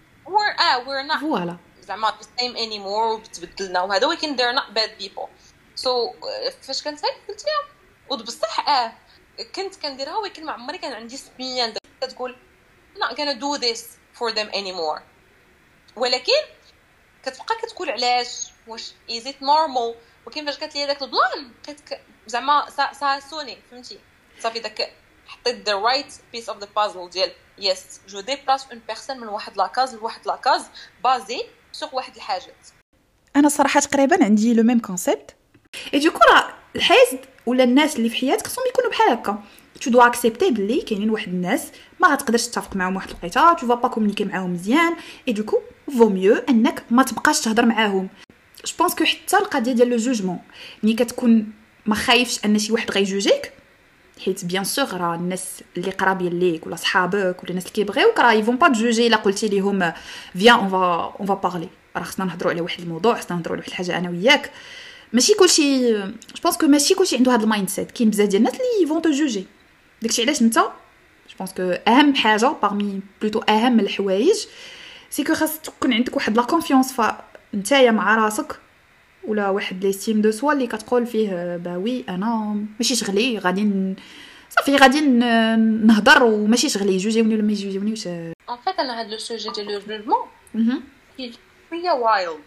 we're not فوالا زعما the same anymore وبتبدلنا وهذا ولكن they're not bad people so فاش كنت هاك قلت لها وبصح كنت كنديرها ولكن ما عمري كان عندي سبيان كتقول not gonna do this for them anymore ولكن كتبقى كتقول علاش واش is it normal ولكن فاش قالت لي داك البلان بقيت زعما سوني فهمتي صافي داك حطيت the right piece of the puzzle ديال yes je déplace une personne من واحد لاكاز لواحد لاكاز بازي سوق واحد الحاجات. انا صراحه تقريبا عندي لو ميم كونسيبت اي دوكو راه الحياه ولا الناس اللي في حياتك خصهم يكونوا بحال هكا tu dois accepter بلي كاينين واحد الناس ما غتقدرش تتفق معاهم واحد الوقيته tu vas pas communiquer معاهم مزيان et du coup vaut mieux انك ما تبقاش تهضر معاهم. جو بونس كو حتى القضيه ديال لو جوجمون ملي كتكون ما خايفش ان شي واحد غيجوجيك حيت بيان سور راه الناس اللي قرابين ليك ولا صحابك ولا الناس اللي كيبغيوك راه يفون با جوجي الا قلتي ليهم فيان اون فا بارلي راه خصنا نهضروا على واحد الموضوع خصنا نهضروا على واحد الحاجه انا وياك ماشي كلشي جو بونس كو ماشي كلشي عنده هذا المايند سيت كاين بزاف ديال الناس اللي يفون تو جوجي داكشي علاش انت جو بونس كو اهم حاجه بارمي بلوتو اهم الحوايج سي كو خاص تكون عندك واحد لا كونفيونس فنتايا مع راسك ولا واحد ليستيم دو سوا اللي كتقول فيه باوي انا ماشي شغلي غادي صافي غادي نهضر وماشي شغلي يجوجيوني ولا ما يجوجيونيش. ان فيت انا هاد لو سوجي ديال لو جوجمون هي شويه وايلد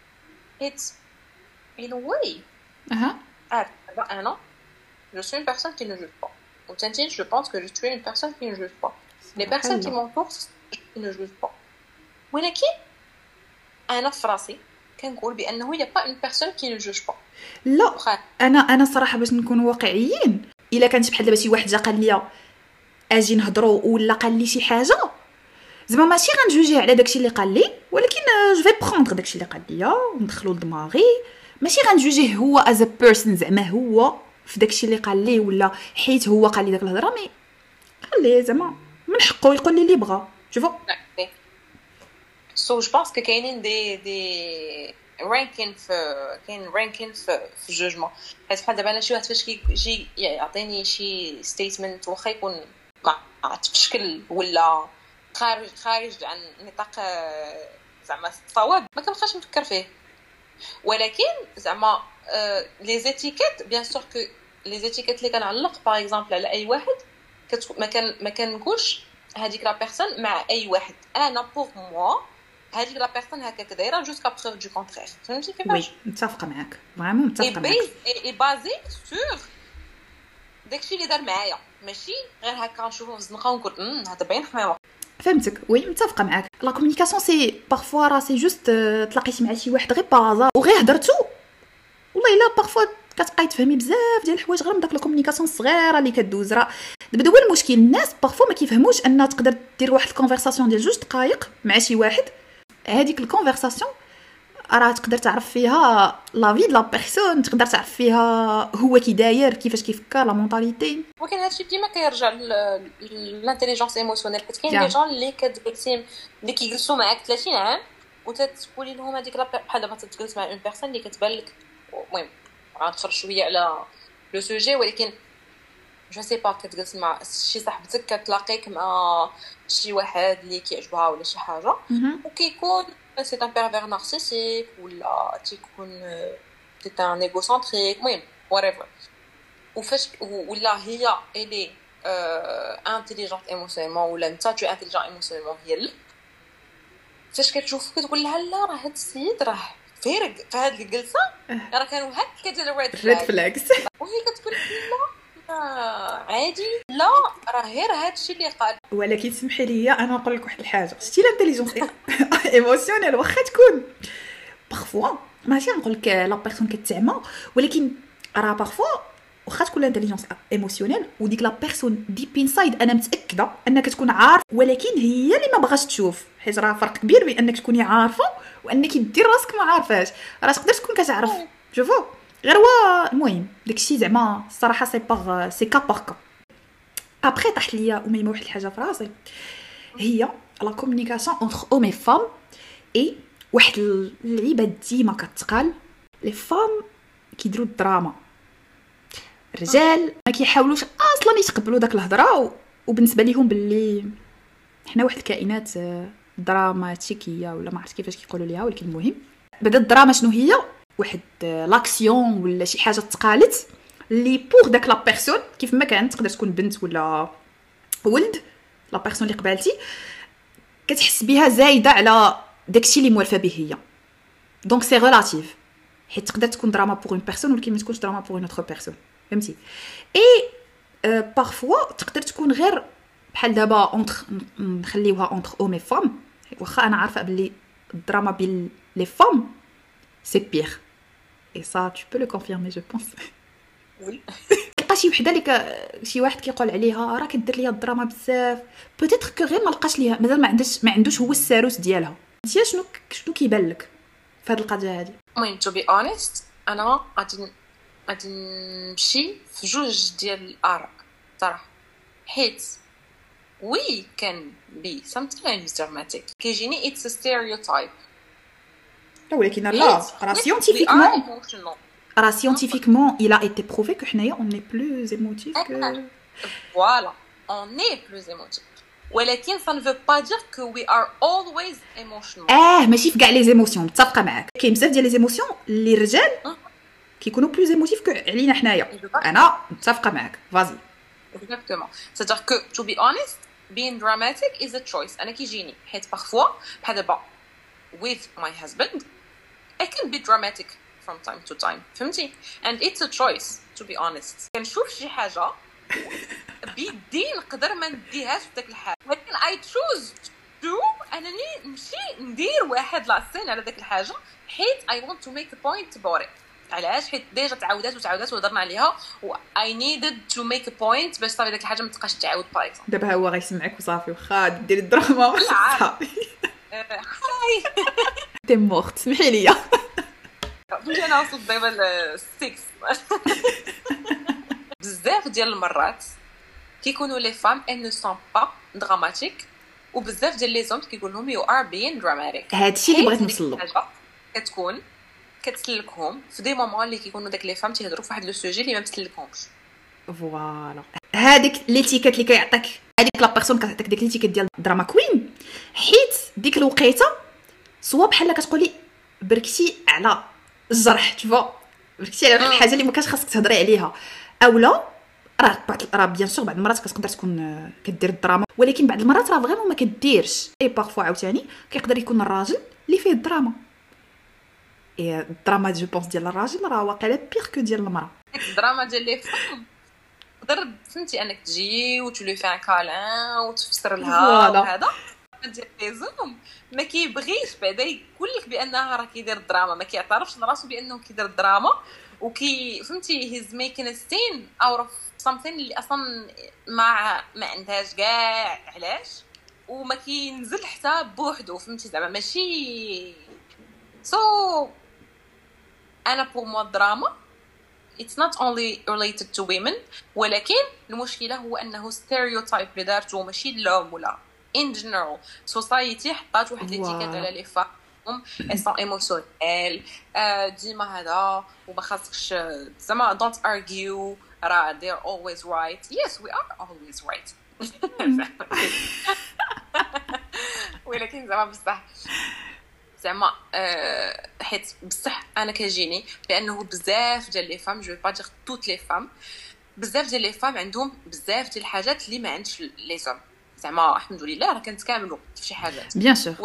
اتس in a way انا je suis une personne qui ne juge pas ou tantine je pense que je suis une personne qui ne juge pas les personnes qui m'entourent qui ne jugent pas ولكن انا في راسي كنقول بانه هي با اون بيرسون كي نو جوج با. لا انا صراحه باش نكون واقعيين الا كانت بحال دابا شي واحد جا قال لي اجي نهضروا ولا قال لي شي حاجه زعما ماشي غنجوجيه على داكشي اللي قال لي ولكن جو في بروندر داكشي اللي قال لي وندخلو لدماغي ماشي غنجوجيه هو از ا بيرسون زعما هو في داكشي اللي قال لي ولا حيت هو قال لي داك الهضره مي خليه زعما من حقه يقول لي اللي بغا شوفوا سو جو بونس كو كاينين دي رانكين في الجوجمون حيت بحال دابا انا شي واحد فاش كيجي يعطيني شي ستيتمنت واخا يكون ما تفشكل ولا خارج عن نطاق زعما الصواب ما كنبقاش نفكر فيه. ولكن زعما لي زيتيكيت بيان سور كو لي زيتيكيت اللي كنعلق باغ اكزومبل على اي واحد ما كنقولش هذيك لا بيرسون مع اي واحد. انا بوغ موا هذيك لا بيرسون هكاك دايره جوسكا بروف دو كونترير. فهمتي كيفاش؟ وي متفقه معاك فريمون متفقه معاك. اي بازي سور داكشي اللي دار معايا ماشي غير هكا نشوفو في الزنقه ونقول هذا باين حماوه. فهمتك وي متفقه معاك. لا كومونيكاسيون سي بارفوا راه سي جوست تلاقيتي مع شي واحد غير بازار وغير هضرتو والله الا بارفوا كتبقاي تفهمي بزاف ديال الحوايج غير من داك لا كومونيكاسيون الصغيره اللي كدوز. راه دابا هو المشكل الناس بارفوا ما كيفهموش ان تقدر دير واحد الكونفرساسيون ديال 2 دقائق مع شي واحد. هذيك الكونفرساسيون راه تقدر تعرف فيها لا في د لا بيرسون، تقدر تعرف فيها هو كي داير كيفاش كيفكر لا مونطاليتي. ولكن هادشي ديما كيرجع للانتيليجنس ايموسيونيل. حيت كاين دي جون اللي كتجلسي اللي كيجلسوا معاك 30 عام وتتقولي لهم هذيك بحال دابا تتجلس مع اون بيرسون اللي كتبان لك. المهم غنخرج شويه على لو سوجي ولكن جو سي با كتجلس مع شي صاحبتك كتلاقيك مع شي واحد اللي كيعجبها ولا شي حاجه وكيكون سي ان بيرفير نارسيسيك ولا تيكون سي ان ايغوسنتريك المهم whatever. وفاش ولا هي الي انتيليجنت ايموسيونيلمون ولا انت تو انتيليجنت ايموسيونيلمون هي اللي فاش كتشوف كتقول لها لا راه هاد السيد راه فارق في هاد الجلسه راه كانوا هكا ديال الريد فلاكس وهي كتقول لا عادي لا راه غير هادشي اللي قال. ولكن سمحي لي انا نقول لك واحد الحاجه. شتي الانتيليجنس ايموسيونيل واخا تكون بارفوا ماشي نقول لك لا بيرسون كتعمى ولكن راه بارفوا واخا تكون الانتيليجنس ايموسيونيل وديك لا بيرسون ديب انسايد انا متاكده انك تكون عارف ولكن هي اللي ما بغاش تشوف. حيت راه فرق كبير بين انك تكوني عارفه وانك دير راسك ما عارفاش. راه تقدر تكون كتعرف شوفوا غير هو المهم داكشي زعما الصراحه سي كا باغ كا. ابري طاحت ليا وميمه واحد الحاجه في راسي هي لا كومونيكاسيون اونتر اوم اي فام. اي واحد اللعيبه ديما كتقال لي فام كيديروا الدراما، الرجال ما كيحاولوش اصلا يتقبلوا داك الهضره وبالنسبه ليهم باللي حنا واحد الكائنات دراماتيكيه ولا ما عرفت كيفاش كيقولوا ليها. ولكن المهم بدا الدراما شنو هي واحد لاكسيون ولا شي حاجه تقالت اللي بوغ داك لا بيرسون كيف ما كانت تقدر تكون بنت ولا ولد لا بيرسون اللي قبالتي كتحس بها زايده على داكشي اللي موالفه به هي. دونك سي ريلاتيف حيت تقدر تكون دراما بوغ اون بيرسون ولكن ما تكونش دراما بوغ اون اوتر بيرسون. فهمتي؟ اي بارفوا تقدر تكون غير بحال دابا اونتر نخليوها اونتر اوم اي فام واخا انا عارفه بلي الدراما بين لي فام سي بير اي سا tu peux le confirmer je pense. وي لقى شي وحده اللي شي واحد كيقول عليها راه كدير ليا الدراما بزاف بوتيتر كو غير ما لقاش ليها مازال ما عندوش هو الساروس ديالها. انت شنو كيبان لك في هذه القضيه هذه؟ المهم تو بي اونست انا غادي نمشي في جوج ديال الاراء صراحه. حيت we can be sometimes dramatic كيجيني it's a stereotype. ولكن لا راه scientifiquement il a été prouvé que حنايا on est plus émotif que voilà on est plus émotif ولكن ça ne veut pas dire que we are always emotional. ماشي في كاع لي زيموسيون. متفقه معاك كاين بزاف ديال لي زيموسيون اللي الرجال كيكونوا بلوز ايموتيف كو علينا حنايا. انا متفقه معاك فازي exactement. c'est-à-dire que to be honest being dramatic is a choice. انا كيجيني حيت parfois بحال دابا with my husband I can be dramatic from time to time. فهمتي؟ and it's a choice to be honest. كنشوف شي حاجه بيدي نقدر ما نديهاش في داك الحال ولكن I choose to انني نمشي ندير واحد لاسين على داك الحاجه حيت I want to make a point about it. علاش؟ حيت ديجا تعاودات وهضرنا عليها و I needed to make a point باش صافي داك الحاجه ما تبقاش تعاود باغ اكزومبل. دابا هو غيسمعك وصافي واخا ديري الدراما صافي هاي تي مورت سمحي لي فهمتي. انا وصلت دابا ل 6 بزاف ديال المرات كيكونوا لي فام ان نو سون با دراماتيك وبزاف ديال لي زوم كيقول لهم يو ار بين دراماتيك. هادشي اللي بغيت نوصل له. كتكون كتسلكهم في دي مومون اللي كيكونوا داك لي فام تيهضروا في واحد لو سوجي اللي ما مسلكهمش. فوالا هذيك ليتيكيت اللي كيعطيك هذيك لا بيرسون كتعطيك ديك ليتيكيت ديال دراما كوين، حيت ديك الوقيته سوا بحال كتقولي بركتي على الجرح، تشوفوا بركتي على الحاجه اللي ما كانش خاصك تهضري عليها، اولا راه بيان سور بعض المرات كتقدر تكون كدير الدراما، ولكن بعض المرات راه فريمون ما كديرش. اي بارفوا عاوتاني كيقدر يكون الراجل اللي فيه الدراما، اي الدراما جو بونس ديال الراجل راه واقيلا بيغ كو ديال المراه. الدراما ديال لي فام تقدر فهمتي انك تجي وتولي فيها كالان وتفسر لها وهذا ديال لي زوم ما كيبغيش بعدا يقول لك بانها راه كيدير الدراما، ما كيعترفش لراسو بانه كيدير الدراما، وكي فهمتي هيز ميكين ستين او اوف something اللي اصلا ما عندهاش كاع علاش، وما كينزل حتى بوحدو، فهمتي زعما ماشي انا بور مو دراما it's not only related to women، ولكن المشكله هو انه ستيريوتايب اللي دارتو ماشي لهم ولا in general society حطات واحد ليتيكيت على لي فام اسون ايموشنال ديما هذا وما خاصكش زعما don't argue راه they're always right. yes we are always right ولكن زعما بصح زعما حيت بصح انا كيجيني بانه بزاف ديال لي فام جو با دير توت لي فام، بزاف ديال لي فام عندهم بزاف ديال الحاجات اللي ما عندش لي زوم، زعما الحمد لله راه كنتكاملوا في شي حاجات بيان سور،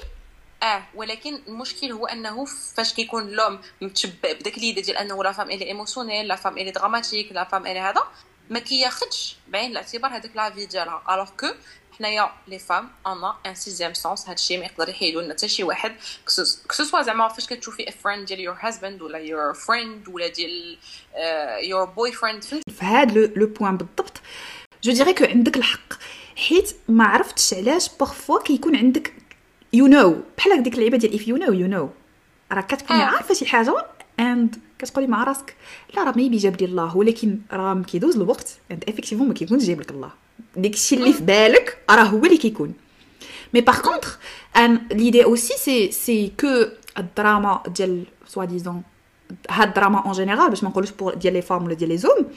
ولكن المشكل هو انه فاش كيكون لوم متشبع بداك اليد ديال انه لا فام ايلي ايموشنيل، لا فام ايلي دراماتيك، لا فام ايلي هذا، ما كياخذش بعين الاعتبار هذاك لا في ديالها، الوغ كو حنايا لي فام انا ان سيزيام سونس، هادشي ما يقدر يحيدو لنا حتى شي واحد كسوسوا زعما فاش كتشوفي ا فريند ديال يور هازباند ولا يور فريند ولا ديال يور بوي فريند. في هاد لو بوين بالضبط جو ديري كو عندك الحق، حيت ما عرفتش علاش بارفوا كيكون عندك بحال ديك اللعيبه ديال if you know راه كتكوني عارفه شي حاجه اند كتقولي مع راسك لا راه ميبي جاب لي الله، ولكن راه كيدوز الوقت اند افيكتيفون ما كيكونش جايب لك الله، ديك الشيء اللي في بالك راه هو اللي كيكون. مي باغ كونطخ ان ليدي اوسي سي كو الدراما ديال سوا ديزون هاد الدراما اون جينيرال باش ما نقولوش بور ديال لي فام ولا ديال لي زوم،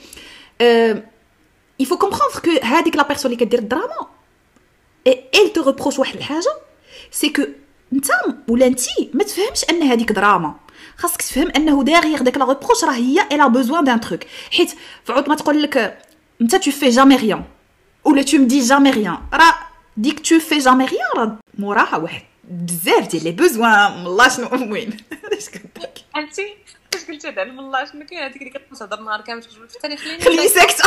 il faut comprendre que هذيك لا بيرسون اللي كدير الدراما elle te reproche واحد الحاجه سي كو انت ولا انتي ما تفهمش ان هذيك دراما، خاصك تفهم انه داغيغ داك لا ريبروش راه هي الا بوزوان دان تروك، حيت فعود ما تقول لك انت tu fais jamais rien ولا tu me dis jamais rien، راه ديك tu fais jamais rien راه موراها واحد بزاف ديال لي بوزوان والله شنو وين اش كنتك انتي اش قلتي هذا والله شنو كاين هذيك اللي كتهضر نهار كامل تقول في الثاني خليني ساكته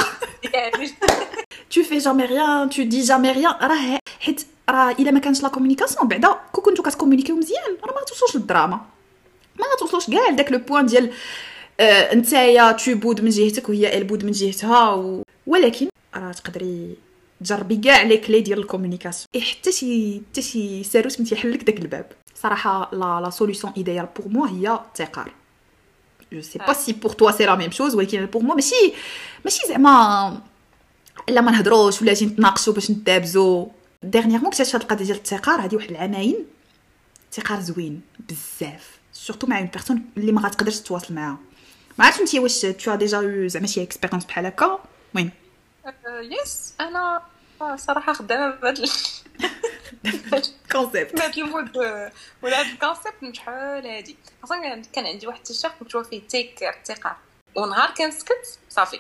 tu fais jamais rien tu dis jamais rien، راه حيت راه الا ما كانش لا كومونيكاسيون بعدا كنتو كتكومونيكيو مزيان راه ما توصلوش للدراما، ما توصلوش كاع لداك لو بوين ديال نتايا تبود من جهتك وهي البود من جهتها ولكن راه تقدري تجربي كاع لي كلي ديال الكومونيكاسيون حتى شي ساروت من تيحلك داك الباب. صراحه لا سوليوشن ايديال بور موا هي التقار. جو سي با سي بور توا سي لا ميم شوز، ولكن بور موا ماشي زعما الا ما نهضروش ولا جيت نتناقشوا باش نتابزوا. ديرنييرمون كنت هاد القضيه ديال التقار هذه واحد العامين، التقار زوين بزاف سورتو مع اون بيرسون اللي ما غتقدرش تواصل معاها. ما عرفتش انت واش تو ديجا زعما شي اكسبيريونس بحال هكا؟ المهم يس انا صراحه خدامه بهذا الكونسيبت هذا المود ولا هذا الكونسيبت من شحال هادي. اصلا كان عندي واحد الشيخ مكتوب فيه تيك التقار، ونهار كنسكت صافي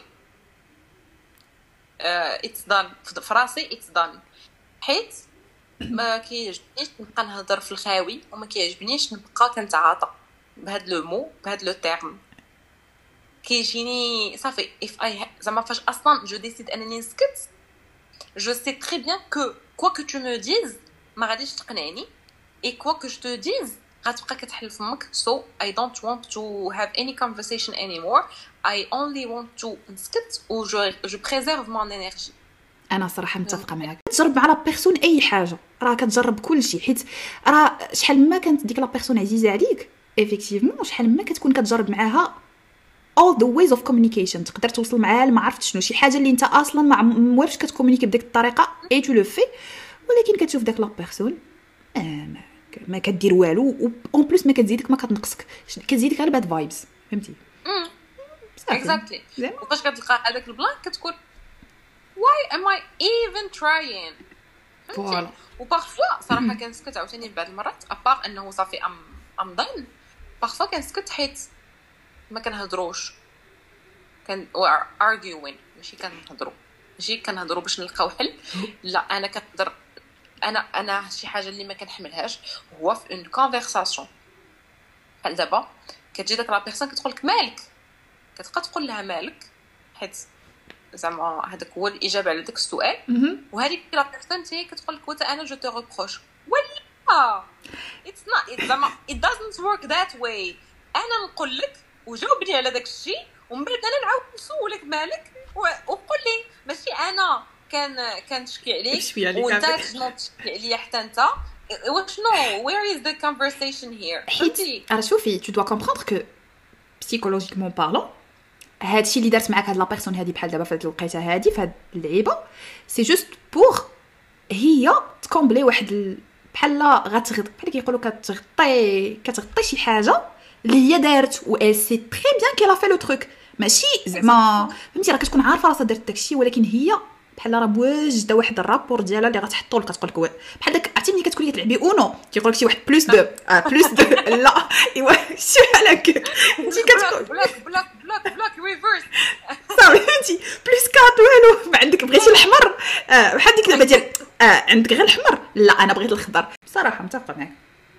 اتس دان في راسي اتس دان، حيت ما كيعجبنيش نبقى نهضر في الخاوي وما كيعجبنيش نبقى كنتعاطى بهاد لو مو بهاد لو تيرم. كيجيني صافي زعما فاش اصلا جو ديسيد انني نسكت جو سي تري بيان كو كوا كو تو مو ديز ما غاديش تقنعني اي كوا كو جو تو ديز غتبقى كتحل فمك. سو اي دونت وونت تو هاف اني كونفرسيشن اني مور، اي اونلي وونت تو نسكت و جو بريزيرف مون انرجي. انا صراحه متفقه معاك. تجرب مع لا بيرسون اي حاجه راه كتجرب كل شيء، حيت راه شحال ما كانت ديك لا بيرسون عزيزه عليك ايفيكتيفمون شحال ما كتكون كتجرب معاها all the ways of communication تقدر توصل معاها لما عرفت شنو شي حاجه اللي انت اصلا ما موافقش كتكومونيكي بديك الطريقه اي تو لو في، ولكن كتشوف داك لا بيرسون ما كدير والو و اون بليس ما كتزيدك ما كتنقصك، كتزيدك غير باد فايبس فهمتي. اكزاكتلي. وفاش كتلقى هذاك البلان كتكون why am I even trying. فوالا وبارفوا صراحه كنسكت عاوتاني بعض المرات ابار انه صافي ام ضن بارفوا كنسكت حيت ما كنهضروش كان arguing ماشي كنهضروا باش نلقاو حل. لا انا كنهضر انا شي حاجه اللي ما كنحملهاش هو في اون كونفرساسيون. بحال دابا كتجي داك لا بيرسون كتقول لك مالك، كتبقى تقول لها مالك حيت زعما هذاك هو الاجابه على داك السؤال. وهذيك لا بيرسون تي كتقول لك وتا انا جو تو ريبروش ولا اتس نوت زعما it doesn't work that way. انا نقول لك وجاوبني على داك الشيء ومن بعد انا نعاود نسولك مالك وقول لي ماشي انا كنشكي عليك وانت كتشكي عليا حتى انت وشنو. where is the conversation here. حيت راه شوفي tu dois comprendre que psychologiquement parlant هادشي اللي دارت معاك هاد لا بيرسون هادي بحال دابا فهاد الوقيته هادي فهاد اللعيبه سي جوست بور هي تكومبلي واحد بحال غتغطي بحال كيقولوا كتغطي شي حاجه اللي هي دارت و elle sait très bien qu'elle a fait le truc. ماشي زعما فهمتي راه كتكون عارفه راسها دارت داكشي ولكن هي بحال راه بواجده واحد الرابور ديالها اللي غتحطوا لك كتقول لك بحال داك عرفتي ملي كتكوني كتلعبي اونو كيقول لك شي واحد بلس 2 بلس 2 لا ايوا شي بحال هكا انت كتقول بلاك ريفيرس صافي فهمتي بلس 4 والو ما عندك بغيتي الاحمر بحال ديك اللعبه ديال عندك غير الاحمر لا انا بغيت الخضر. بصراحه متفقه معاك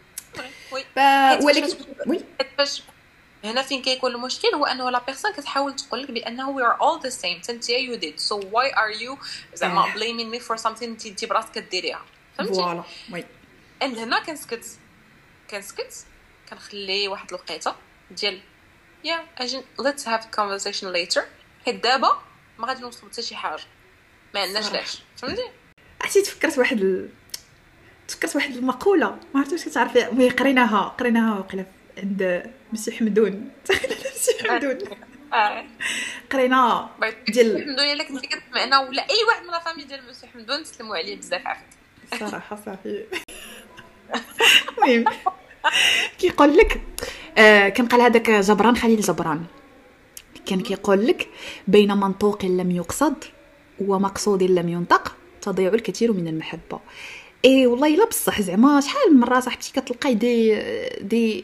ولكن وي باش هنا فين كيكون المشكل هو انه لا بيرسون كتحاول تقول لك بانه we are all the same انت you did so why are you زعما blaming me for something انت براسك كديريها فهمتي. فوالا وي هنا كنسكت كنخلي واحد الوقيته ديال اجي let's have a conversation later حيت دابا ما غادي نوصلوا حتى شي حاجه ما عندناش لاش فهمتي. عرفتي تفكرت واحد المقوله ما عرفتش واش كتعرفي مي قريناها وقيله عند مسي حمدون مسي حمدون قرينا ديال حمدون الا كنتي كتسمعنا ولا اي واحد من لا فامي ديال مسي حمدون تسلموا عليه بزاف عافاك صراحه صافي. المهم كيقول لك كان قال هذاك جبران خليل جبران كان كيقول لك بين منطوق لم يقصد ومقصود لم ينطق تضيع الكثير من المحبه. اي والله الا بصح زعما شحال من مره صاحبتي كتلقاي دي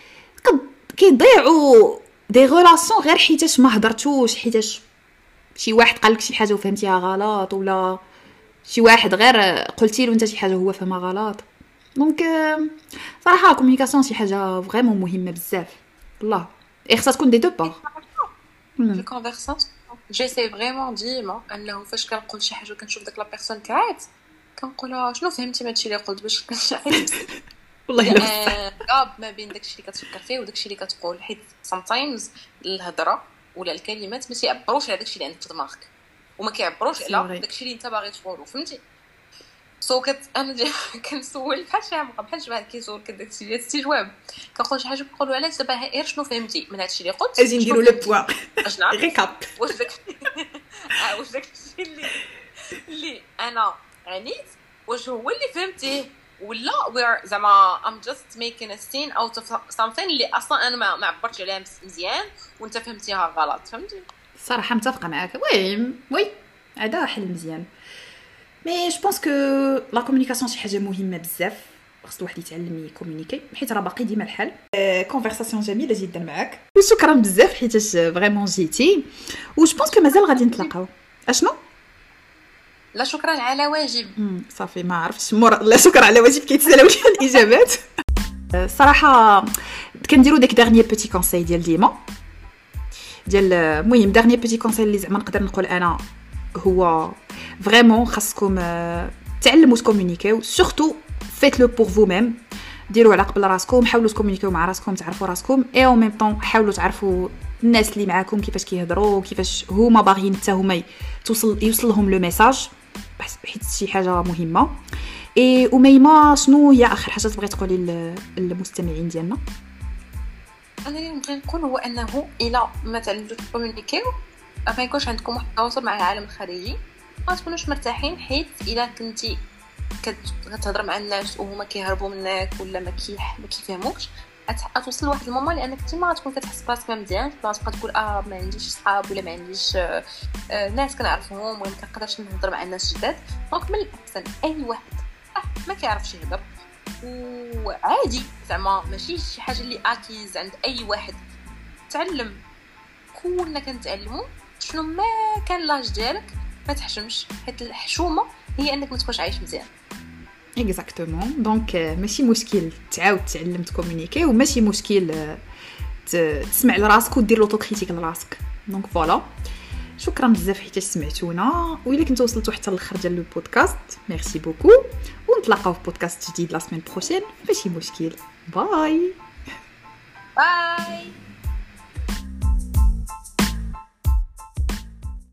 كيضيعوا دي غولاسيون غير حيتاش ما هضرتوش حيتاش شي واحد قال لك شي حاجه وفهمتيها غلط ولا شي واحد غير قلتي له انت شي حاجه هو فهمها غلط. دونك صراحه لا كومونيكاسيون شي حاجه فريمون مهمه بزاف والله خصها تكون دي دو بار في الكونفرساسيون. جيسي فريمون ديما انه فاش كنقول شي حاجه كنشوف داك لا بيرسون كعاد كنقولها شنو فهمتي من هادشي اللي قلت باش كنشعل والله الا غاب ما بين داكشي اللي كتفكر فيه وداكشي اللي كتقول حيت sometimes الهضره ولا الكلمات ما تيعبروش على داكشي اللي عندك في دماغك وما كيعبروش على داكشي اللي انت باغي تقولو فهمتي. سو انا كنسول بحال شي عمقه بحال شي واحد كيسول داكشي ديال استجواب كنقول شي حاجه كنقولوا علاش دابا غير شنو فهمتي من هادشي اللي قلت اجي نديروا لو بوين ريكاب واش داكشي اللي انا عنيت واش هو اللي فهمتيه ولا we're زعما I'm just making a scene out of something اللي اصلا انا ما عبرتش عليها مزيان وانت فهمتيها غلط فهمتي. صراحه متفقه معاك وي هذا حل مزيان. مي جو بونس كو لا كومونيكاسيون شي حاجه مهمه بزاف خص الواحد يتعلم يكومونيكي حيت راه باقي ديما الحال. كونفرساسيون جميله جدا معاك وشكرا بزاف حيتاش فريمون جيتي وجو بونس كو مازال غادي نتلاقاو. اشنو لا شكرا على واجب. صافي ما عرفتش لا شكرا على واجب كيتسالوا لي الاجابات. صراحه كنديروا داك دارنيير بوتي كونساي ديال ديما ديال المهم دارنيير بوتي كونساي اللي زعما نقدر نقول انا هو فريمون خاصكم تعلموا تكومونيكيو سورتو فيت لو بور فو ميم ديروا على قبل راسكم حاولوا تكومونيكيو مع راسكم تعرفوا راسكم اي او ميم طون حاولوا تعرفوا الناس اللي معاكم كيفاش كيهضروا كيفاش هما باغيين حتى هما يوصل لهم لو ميساج حيت شي حاجه مهمه. اي وميمه شنو هي اخر حاجه تبغي تقولي للمستمعين ديالنا؟ انا اللي نبغي نقول هو انه الا ما تعلمتوش تكومونيكيو ما يكونش عندكم واحد التواصل مع العالم الخارجي ما تكونوش مرتاحين حيت الا كنتي كتهضر مع الناس وهما كيهربوا منك ولا ما كيفهموكش توصل لواحد المومون لانك انت ما غتكون كتحس براسك ما مزيان، غتبقى تقول ما عنديش صحاب ولا ما عنديش ناس كنعرفهم ولا ما كنقدرش نهضر مع الناس جداد. دونك من الاحسن اي واحد ما كيعرفش يهضر وعادي زعما ماشي شي حاجه اللي اكيز عند اي واحد، تعلم. كلنا كنتعلموا شنو ما كان لاج ديالك، ما تحشمش، حيت الحشومه هي انك ما تكونش عايش مزيان. اكزاكتومون. دونك ماشي مشكل تعاود تعلم تكومونيكي، وماشي مشكل تسمع لراسك ودير لوطو كريتيك لراسك. دونك فوالا، شكرا بزاف حيت سمعتونا، وإلا كنتو وصلتوا حتى للآخر ديال البودكاست ميرسي بوكو، ونتلاقاو في بودكاست جديد لا سيمين بروشين. ماشي مشكل. باي باي.